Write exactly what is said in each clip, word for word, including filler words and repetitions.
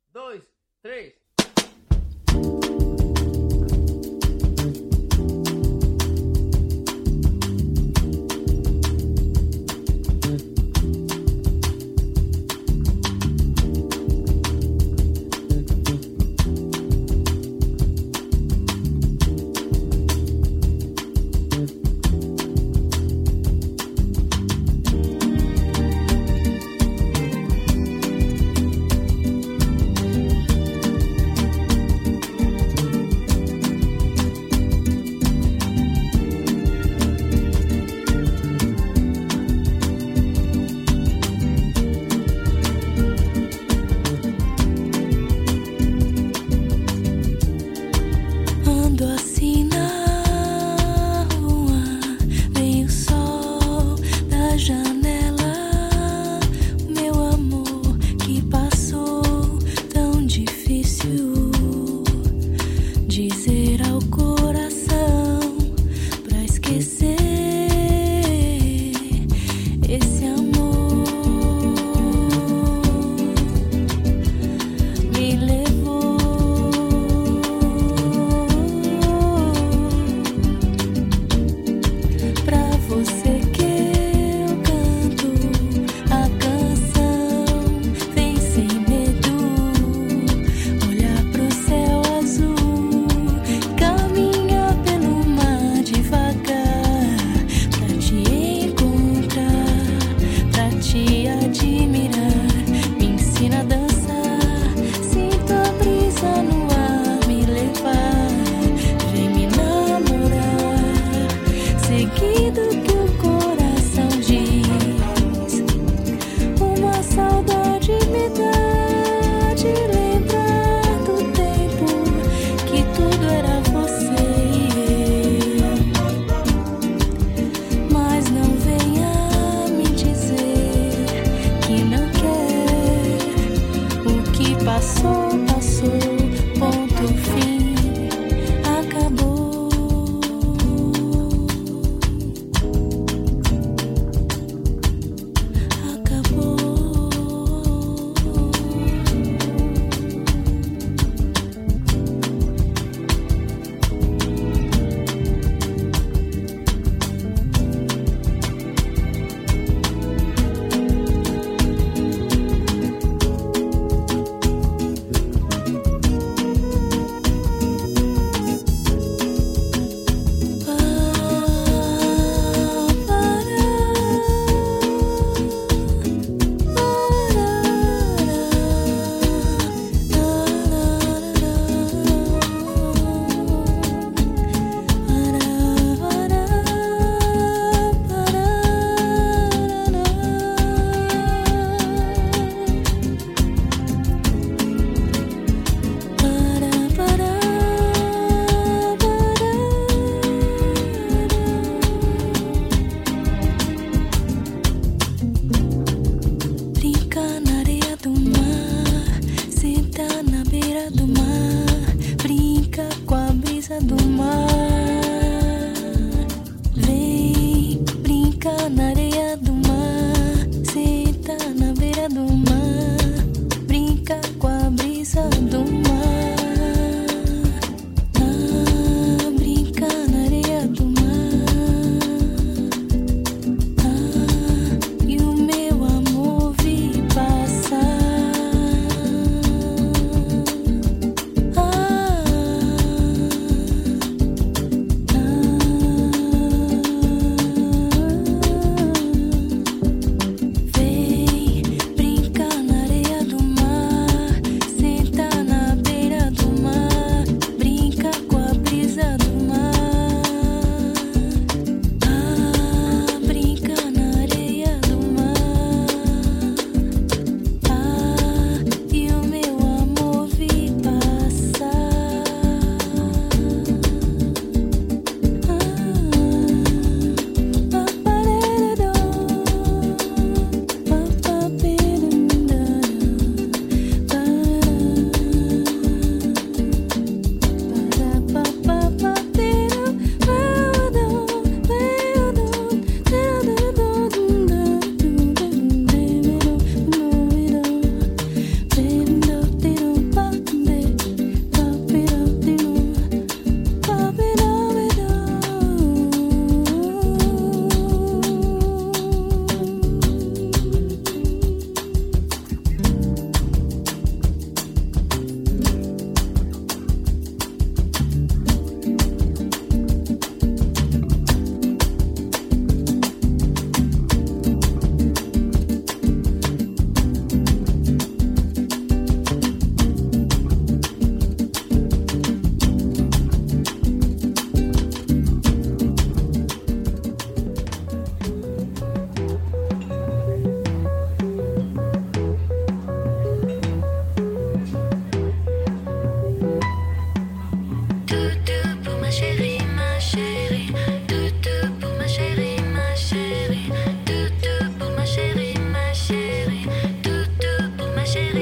dois, três.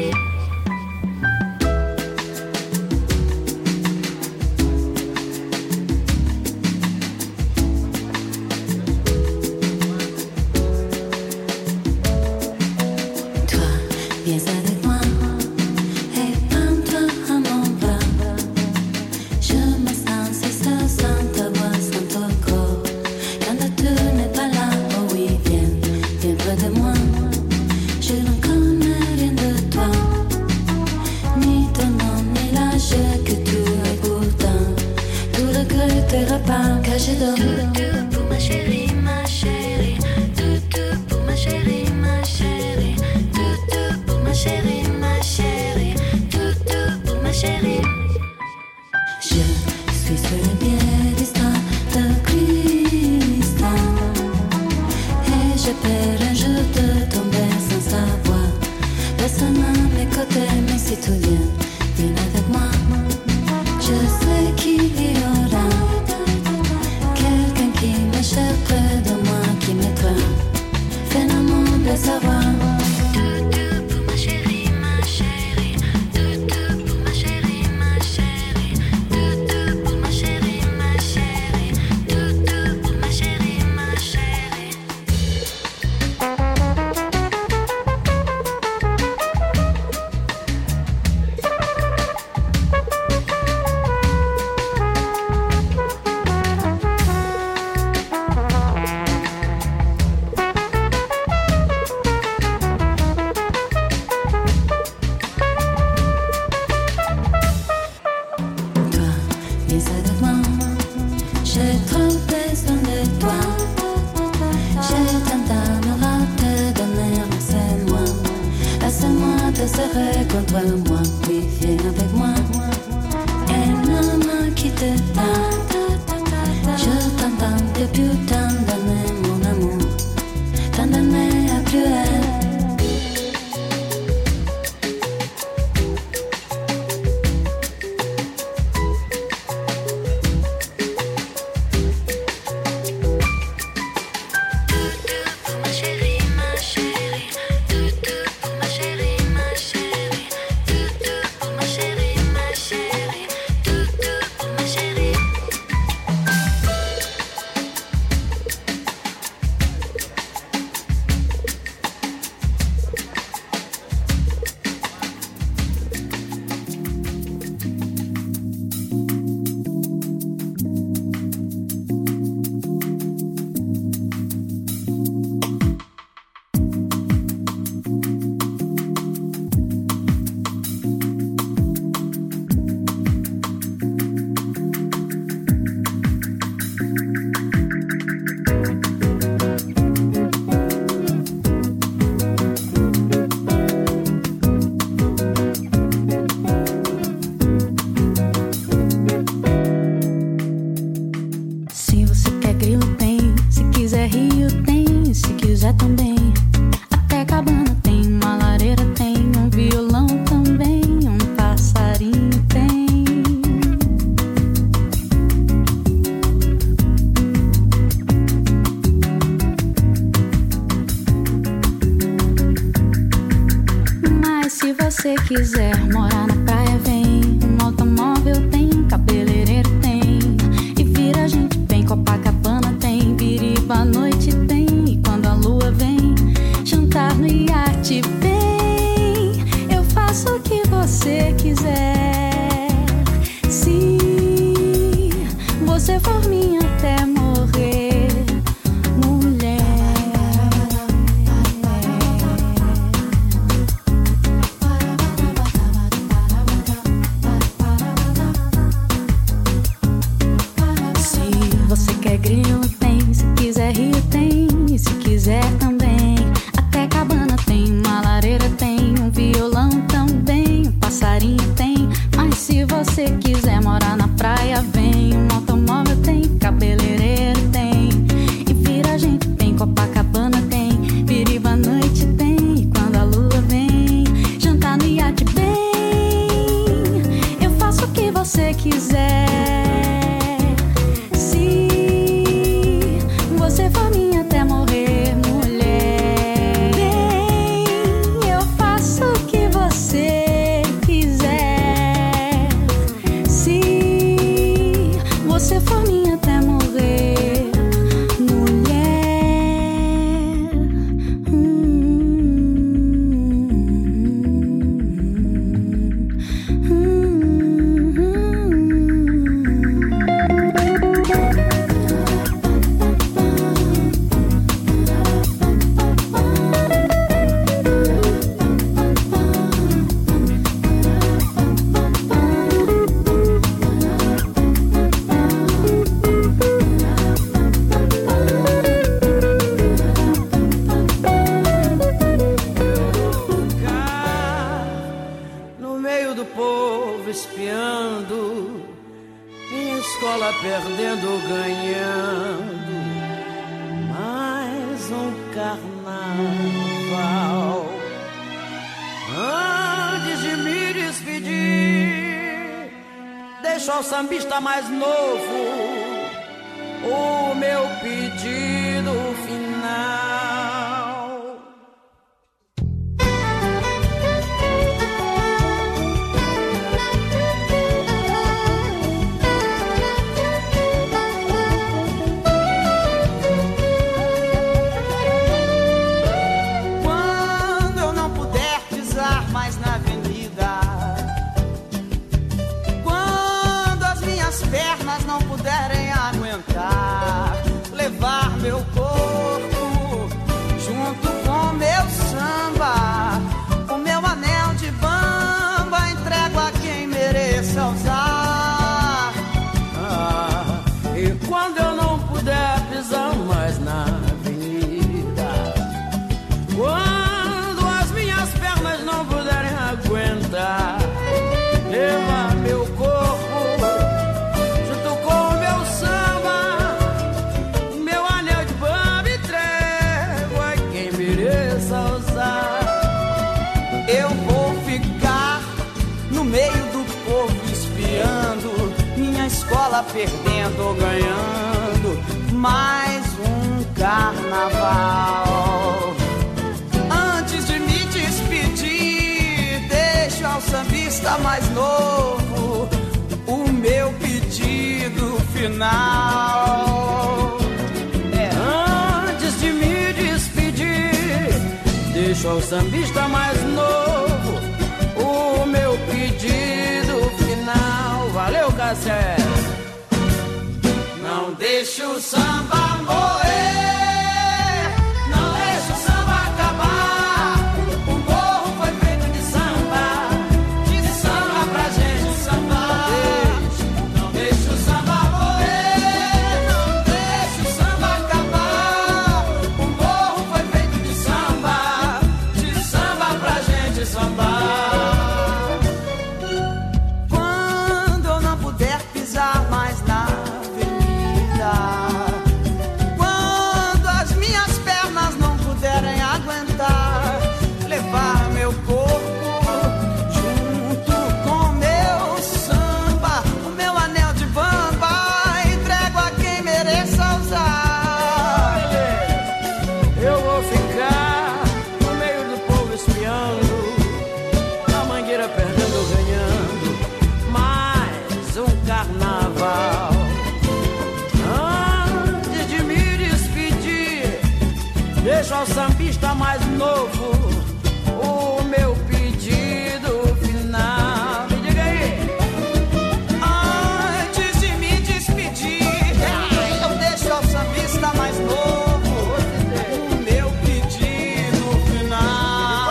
você quiser morar na praia, vem. Um automóvel tem, um cabeleireiro tem. E vira a gente bem, Copacabana tem. Biriba à noite tem. E quando a lua vem, jantar no iate vem. Eu faço o que você quiser. Se você for minha até morrer. do povo espiando, minha escola perdendo ou ganhando, mais um carnaval. Antes de me despedir, deixo ao sambista mais novo o meu pedido final. Quando eu não puder pisar mais na avenida, quando as minhas pernas não puderem aguentar, levar meu corpo junto com meu samba, o meu anel de bamba entrego a quem mereça usar. Ah, e quando eu não puder pisar mais na avenida, quando as minhas pernas não puderem aguentar, levar meu corpo junto com o meu samba, meu anel de bamba entrego a quem mereça usar. Eu vou ficar no meio do povo espiando, minha escola perdendo ou ganhando, mais um carnaval. Antes de me despedir, deixo ao sambista mais novo o meu pedido final. É, antes de me despedir, deixo ao sambista mais novo o meu pedido final. Valeu, Cassé! Não deixe o samba morrer, não deixe o samba acabar. O morro foi feito de samba, de samba pra gente sambar. Não deixe o samba morrer, não deixe o samba acabar. O morro foi feito de samba, de samba pra gente sambar. Quando eu não puder pisar mais na avenida, quando as minhas pernas não puderem aguentar, levar meu corpo junto com meu samba, o meu anel de bamba entrego a quem mereça usar. Eu vou ficar no meio do povo espiando, a mangueira perdendo ou ganhando, mais um carnaval. Antes de me despedir, deixo ao sambista mais novo o meu pedido final. Me diga aí. Antes de me despedir, eu deixo ao sambista mais novo o meu pedido final.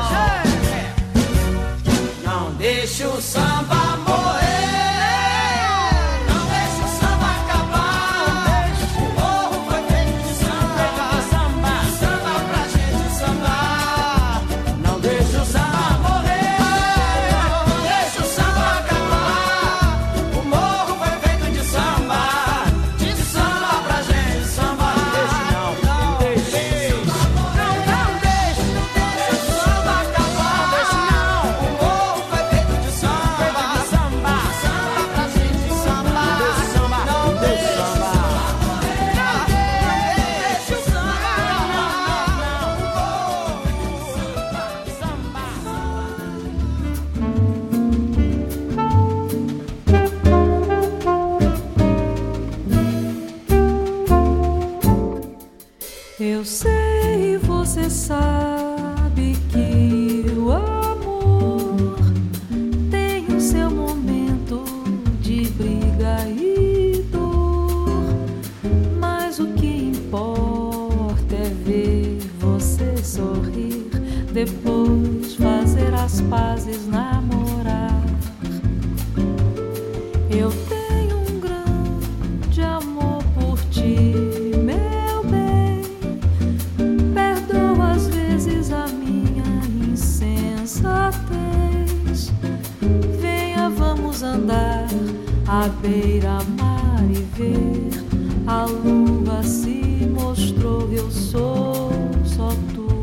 Não deixe o samba morrer, não deixe o samba acabar. O morro foi feito de samba, samba, samba pra gente sambar. Não deixe o samba morrer, Não deixe o samba acabar. O morro foi feito de samba, de samba pra gente sambar. não, não deixe. Não, não deixe, não deixe o samba acabar. O morro foi feito de samba, Samba, samba pra gente sambar. samba, Não deixe o samba. samba morrer, não deixe o samba Eu sei, você sabe que o amor tem o seu momento de briga e dor, mas o que importa é ver você sorrir, depois fazer as pazes, namorar. Eu tenho um grande amor por ti, meu bem. Perdoa às vezes a minha insensatez. à beira-mar e ver a lua se mostrou, eu sou só tua.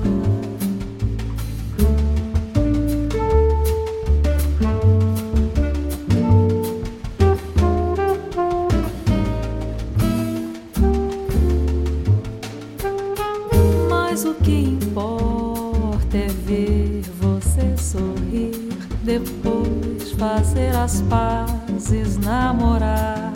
Mas o que importa é ver você sorrir, depois fazer as pazes, namorar.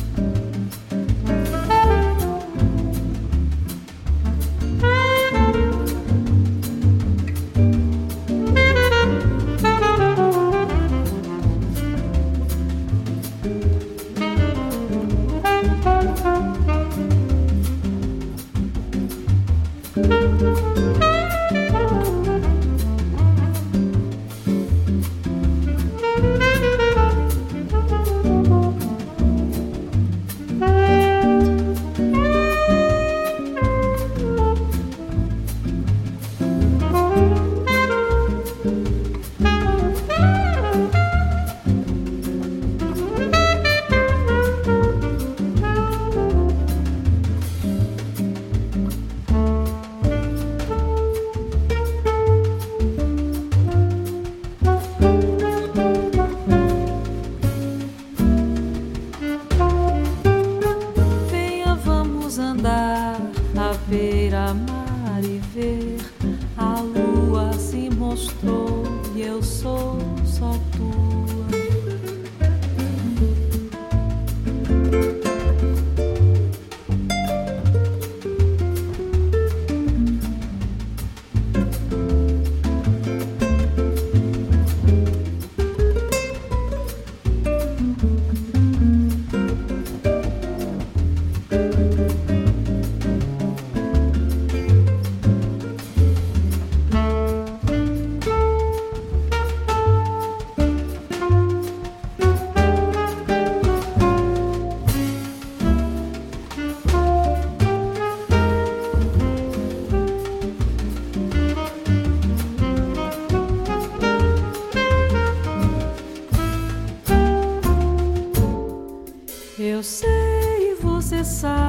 Eu sei, você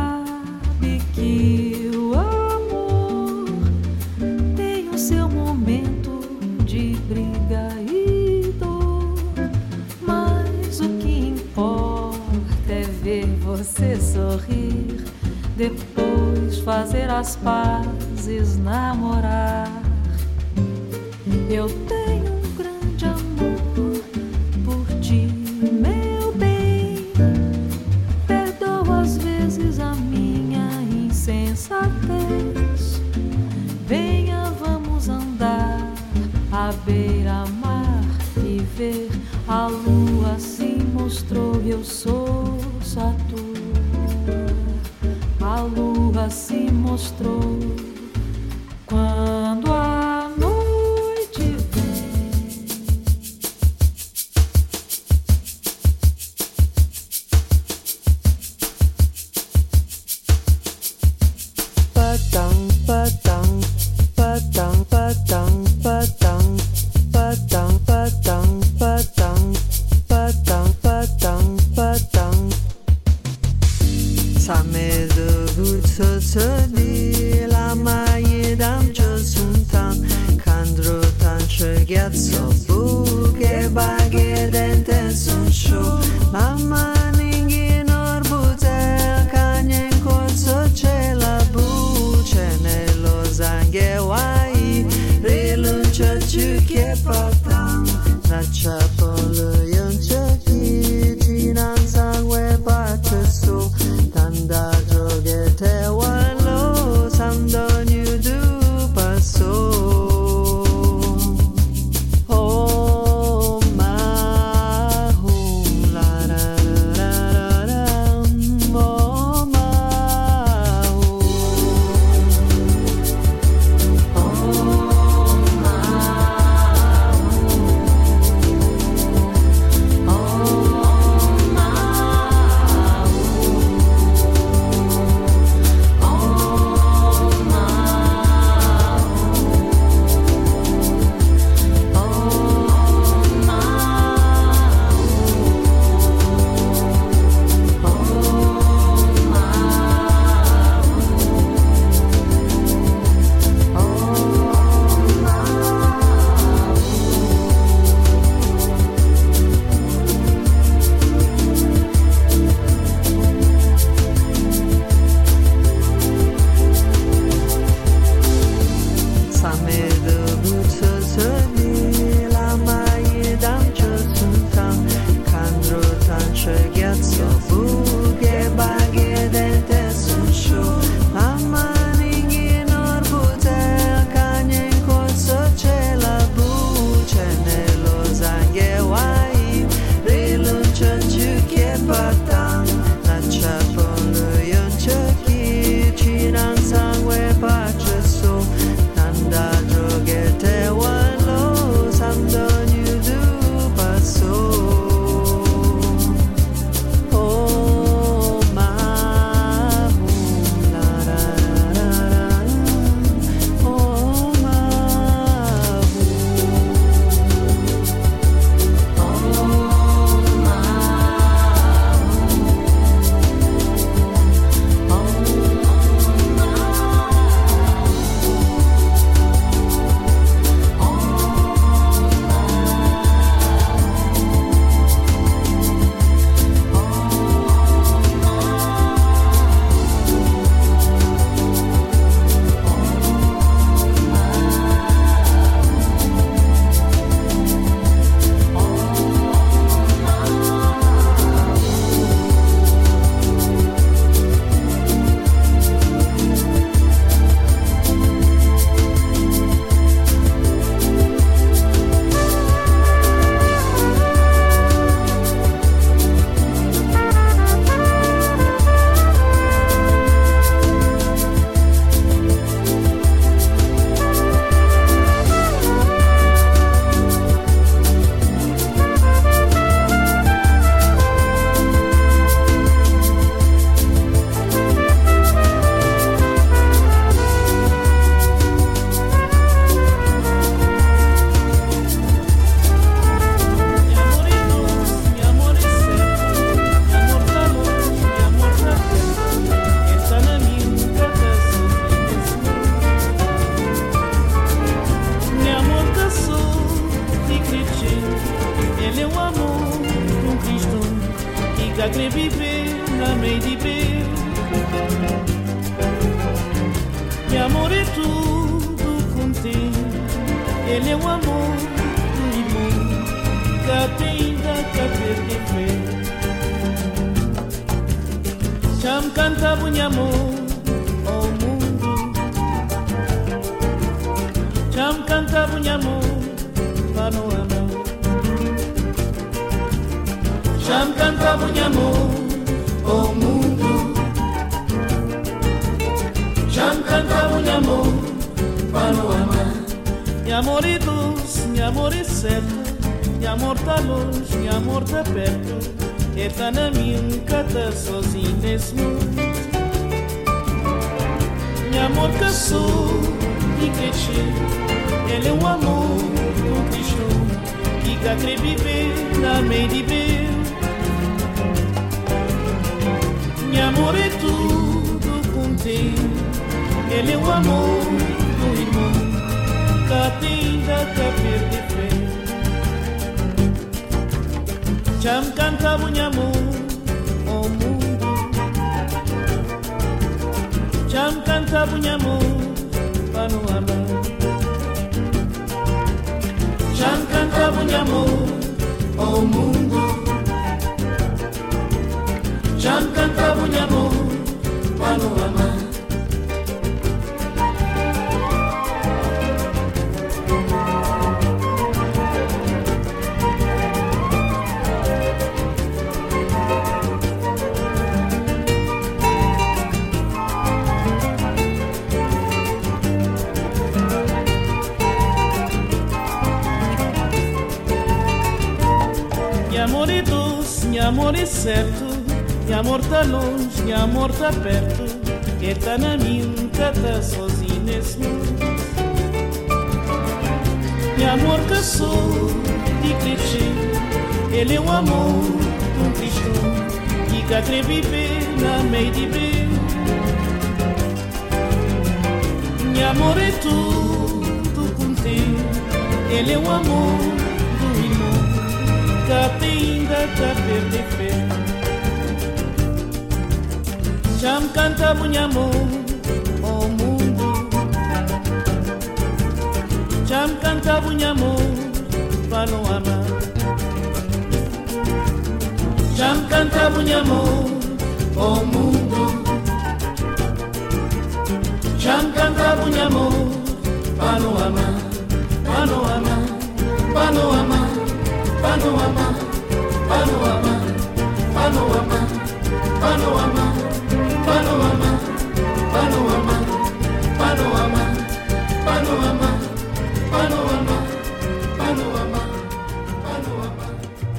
sabe que o amor tem o seu momento de briga e dor, mas o que importa é ver você sorrir, depois fazer as pazes, namorar. Eu tenho um grande amor por ti, meu bem. Perdoa às vezes a minha insensatez. Venha, vamos andar à beira-mar e ver a lua se mostrou. Eu sou só tua. A lua se mostrou quando a noite vem. Patang, patang, patang, patang, patang, patang, patang, patang, patang, patang, patang. Samedo butsotoli la maidam chosuntan kandro tan chegazzo buge baghe dente sun show mama ningi norbutel kanyen corso c'è la buce nello zanghewai riluncia ciuche patan la chapolo yonche chi tinan sangue batte su tanda droge te wallo sandonyu du passo oh ma Ele é o amor de um Cristo que quer viver na meio de Deus. E amor é tudo contém. Ele é o amor do irmão que ainda quer perder fé. Cham canta bunha amor ao mundo. Cham canta bunha amor para no amar. Cham canta bunha amor ao mundo. Cham canta bunha amor para no amar. E amor é doce, e amor é certo. E amor tá longe, e amor tá perto. E tá na minha casa sozinho nesse mundo. E amor caçou e cresceu. Ele é um amor do Cristo que quer viver na meio de Deus. E amor é tudo contém. Ele é o amor do irmão que ainda quer perder fé. Cham canta bunha amor ao mundo. Cham canta bunha amor para no amar. Cham canta bunha amor ao mundo. Cham canta bunha amor para no amar. E amor é certo, e amor tá longe, e amor tá perto. E tá na minha casa sozinho nesse mundo. E amor caçou e cresceu. Ele é o amor de um Cristo que quer viver na meio de Deus. E amor é tudo contém. Ele é o amor do irmão que ainda quer perder fé. Cham canta bunha amor ao mundo. Cham canta bunha amor para no amar. Cham canta bunha amor ao mundo. Cham canta bunha amor para no amar. Para no amar, para no amar. Panorama, panorama, panorama, panorama, panorama, panorama, panorama, panorama, panorama, panorama, panorama,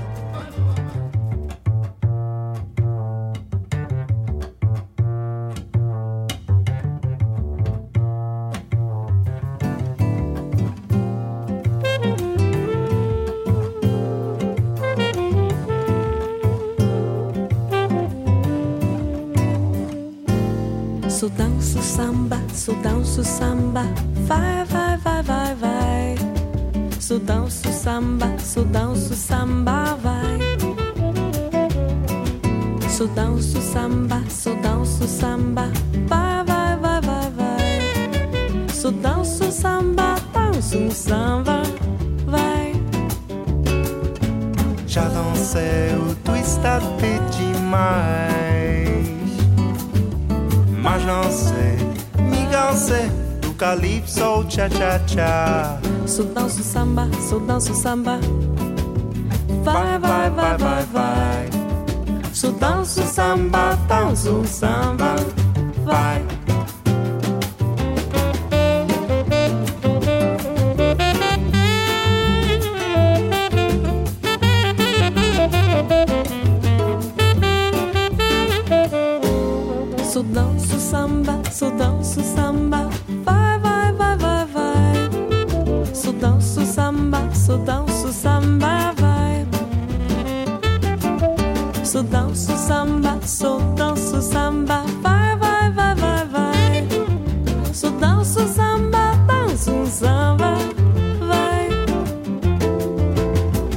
So danço samba, so danço samba, vai, vai, vai, vai, vai. So danço samba, so danço samba, vai. So danço samba, so danço samba, vai, vai, vai, vai, vai. So danço samba, danço samba, vai. Já dancei o twist até demais. Mas não sei, me cansei do calypso, cha-cha-cha. So danço samba, so danço samba, vai, vai, vai, vai, vai. So danço samba, danço samba, vai. So danço samba, so danço samba, vai, vai, vai, vai, vai. So danço samba, so danço samba, vai. So danço samba, so danço samba, vai, vai, vai, vai, vai. So danço samba, danço samba, vai.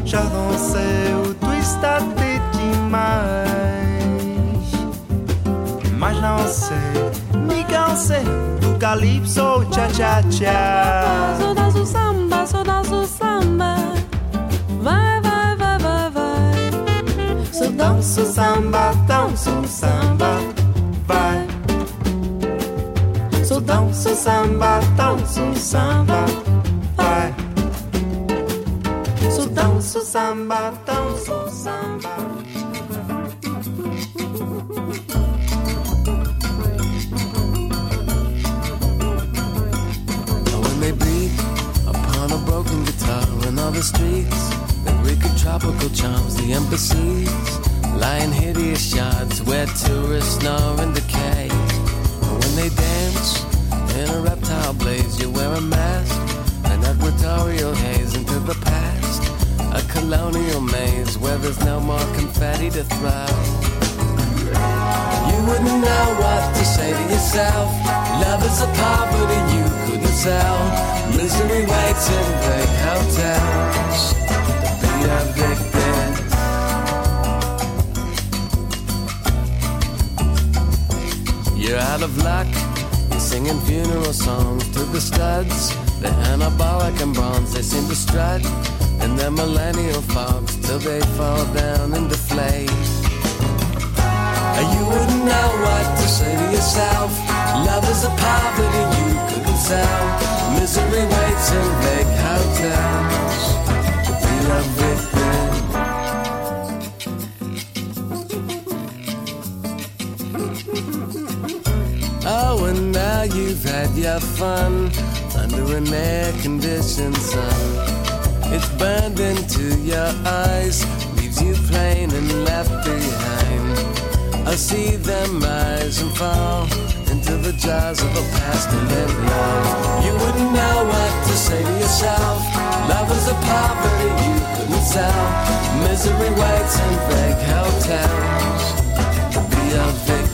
calypso, cha-cha-cha. Só danço samba, só danço samba. Vai, vai, vai, vai, vai. Só danço samba, danço samba. Vai. Só danço samba, danço samba. Vai. Só danço samba, danço samba. Broken guitar and all the streets, the wicked tropical charms, the embassies, lying hideous shards where tourists snore and decay. And when they dance in a reptile blaze, you wear a mask, an equatorial haze into the past, a colonial maze where there's no more confetti to throw. You wouldn't know what to say to yourself. Love is a poverty you couldn't sell. Misery waits in big hotels. Be a victim. You're out of luck. You're singing funeral songs to the studs. They're anabolic and bronze. They seem to strut in their millennial fogs till they fall down and deflate. You wouldn't know what to say to yourself. Love is a poverty you couldn't sell. Misery waits in vague hotels to be a victim. Oh, and now you've had your fun under an air-conditioned sun. It's burned into your eyes, leaves you plain and left behind. I see them rise and fall into the jaws of a past to live long. You wouldn't know what to say to yourself. Love is a poverty you couldn't sell. Misery waits in vague hotels to be a victim.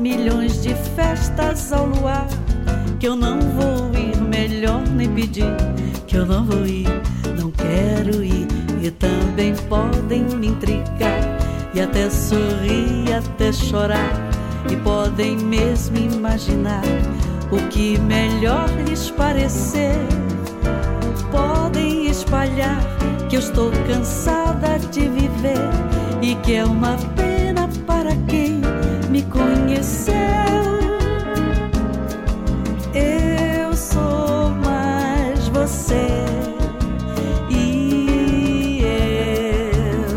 milhões de festas ao luar, que eu não vou ir, melhor nem pedir, que eu não vou ir, não quero ir. E também podem me intrigar, e até sorrir, até chorar, e podem mesmo imaginar o que melhor lhes parecer. Podem espalhar que eu estou cansada de viver e que é uma pena para quem me conheceu. Eu sou mais você e eu.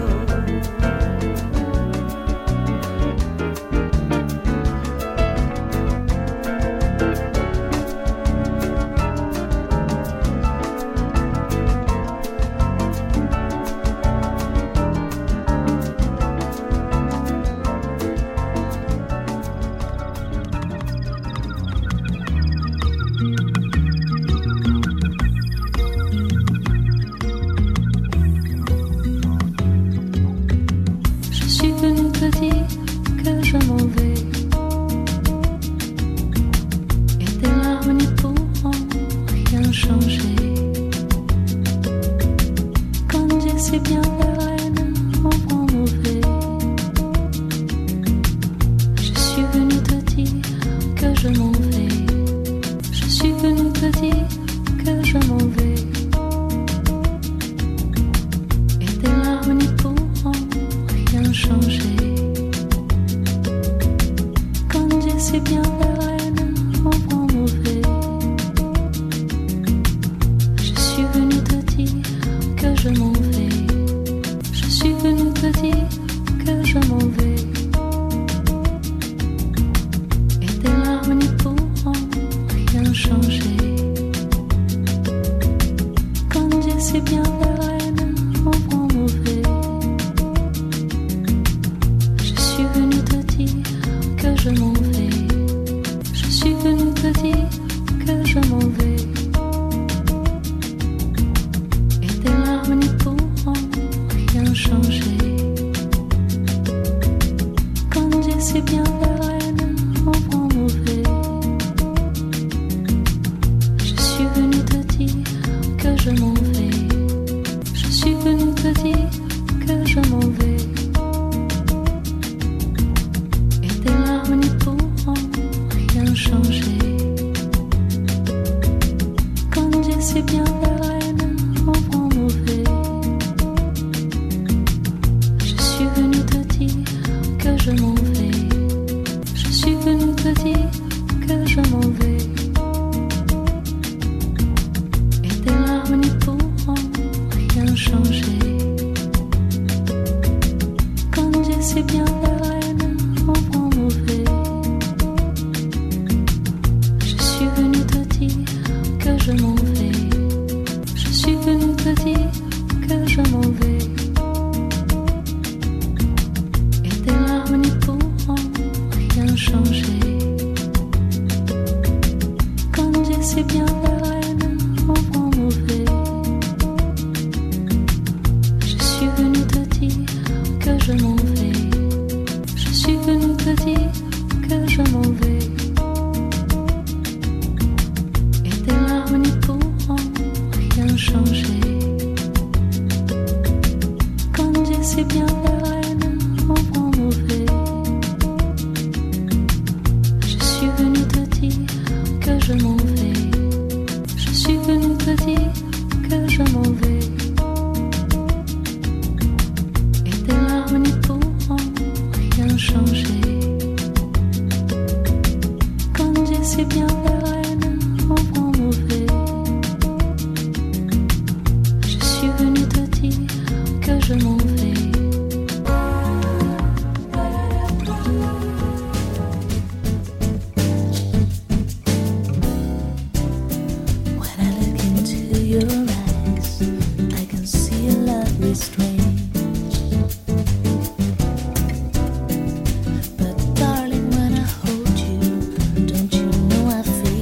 But darling, when I hold you, don't you know I feel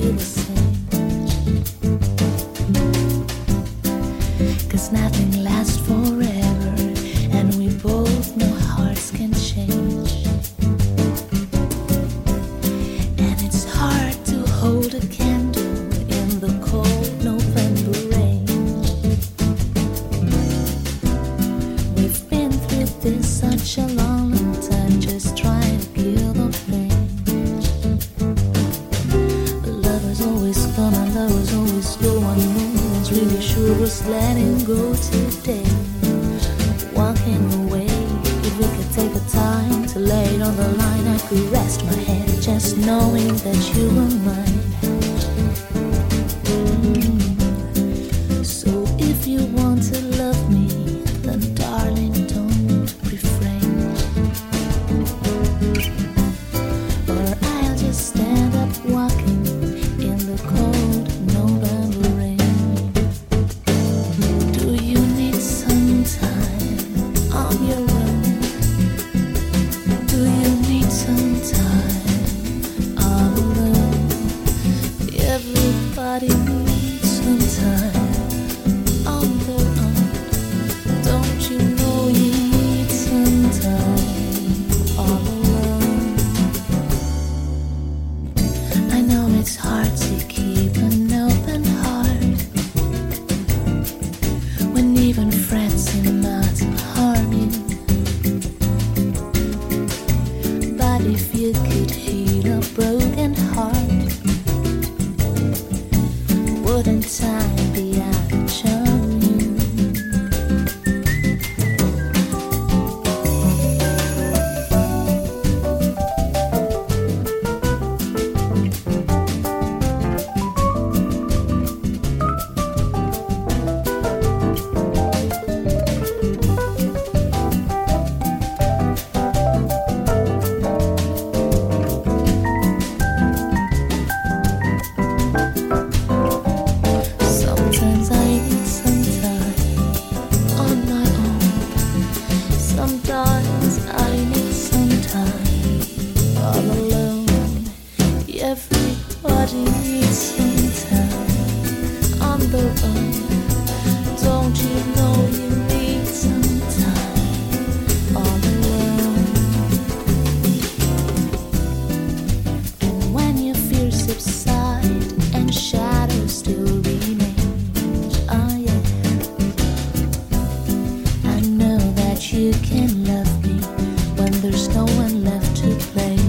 was letting go today, walking away. If we could take the time to lay it on the line, I could rest my head just knowing that you were mine. Mm. So if you want to love me, then darling, don't refrain, or I'll just stand up walking in the cold November rain. Do you need some time on your own? Do you need some time all alone? Everybody needs some time on their own. Don't you know you need some time all alone? I know it's hard to keep an open heart when even friends seem not to harm you. But if you could heal a broken heart, wouldn't time be out of charm you? Sometimes I need some time on my own. Sometimes I need some time all alone. Everybody needs some time on their own. Don't you know you need some time all alone? And when your fears subside and shadows still remain, oh yeah, I know that you can love me when there's no one left to play.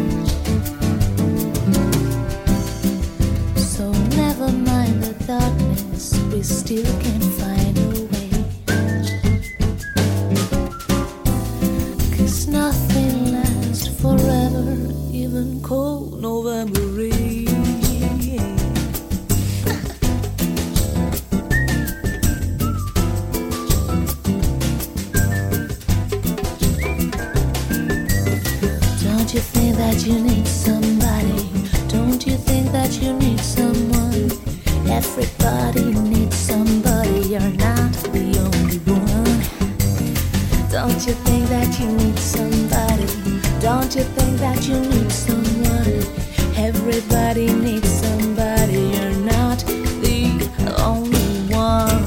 So never mind the darkness, we still can find a way. 'Cause nothing lasts forever, even cold November rain. Don't you think that you need somebody? Don't you think that you need someone? Everybody needs somebody, you're not the only one. Don't you think that you need somebody? Don't you think that you need someone? Everybody needs somebody, you're not the only one.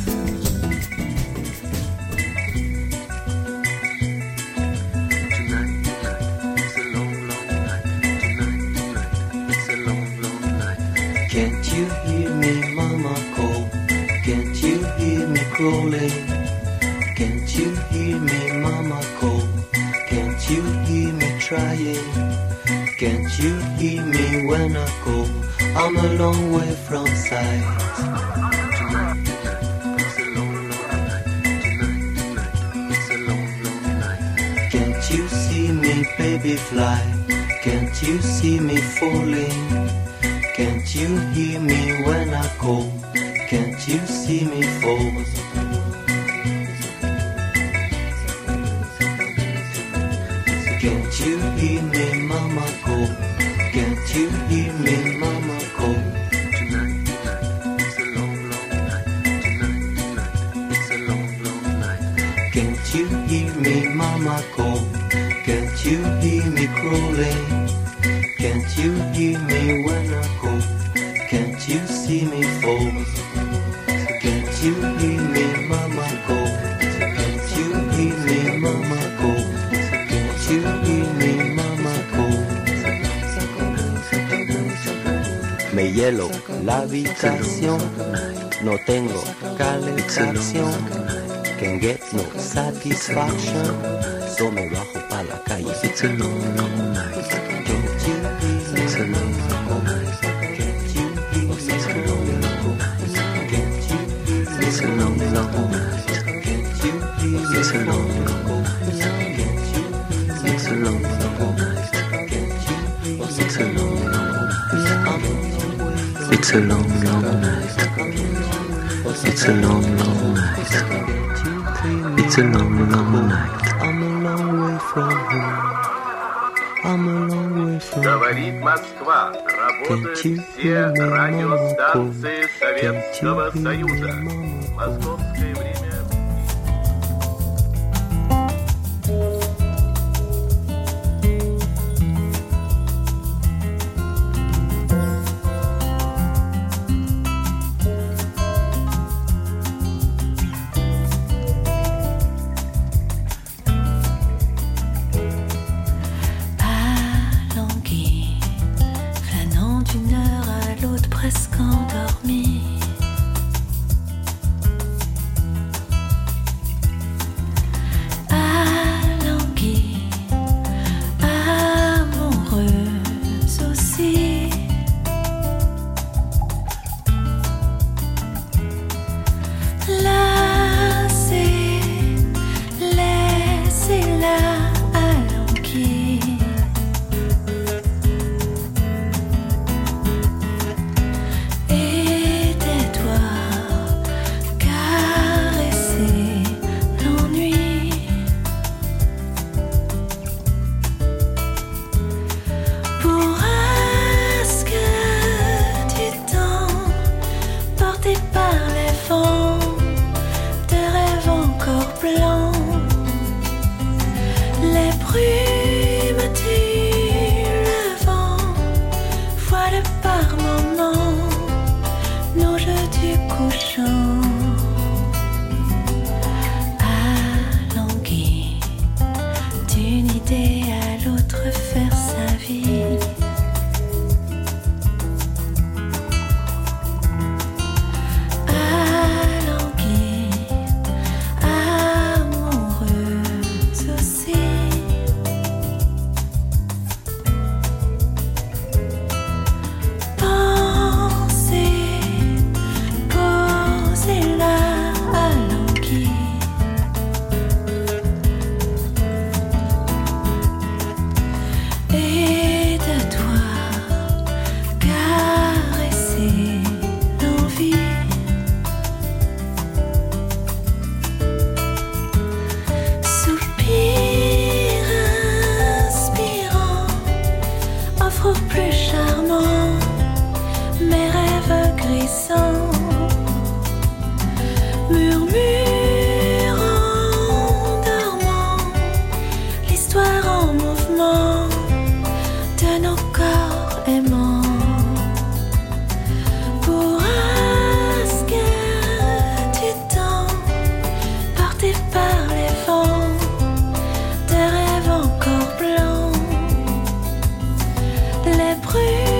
Can't you hear me, mama call? Can't you hear me crawling? Can't you hear me, mama call? Can't you hear me trying? Can't you hear me when I call? I'm a long way from sight. Tonight, tonight, it's a long, long night. Tonight, tonight, it's a long, long night. Can't you see me, baby, fly? Can't you see me falling? Can't you hear me when I call? Can't you see me fall? Can't you hear me, mama call? Can't you hear me, mama call? Tonight, tonight, it's a long, long night. Tonight, tonight, it's a long, long night. Can't you hear me, mama call? Can't you hear me crawling? Can't you hear me when I call? Can't you see me fall? Can't you hear me, mama call? Can't you hear me, mama call? Can't you hear me, mama call? Me hielo la habitación, no tengo calefacción. Can't get no satisfaction, so me bajo pa' la calle. It's a long, long night. Can't you hear me, it's a long, long night. Can't you hear me, it's a long, long night. Can't you hear me, It's a long, long night. It's a long, long night. It's a long, long night. It's a long, long night. I'm a long way from home. I'm a long way from Говорит Москва. Работают все радиостанции Советского Союза. Московское время. Presque endormi. Alangui, amoureuse aussi. Lassée, laissez-la alangui. Les bruits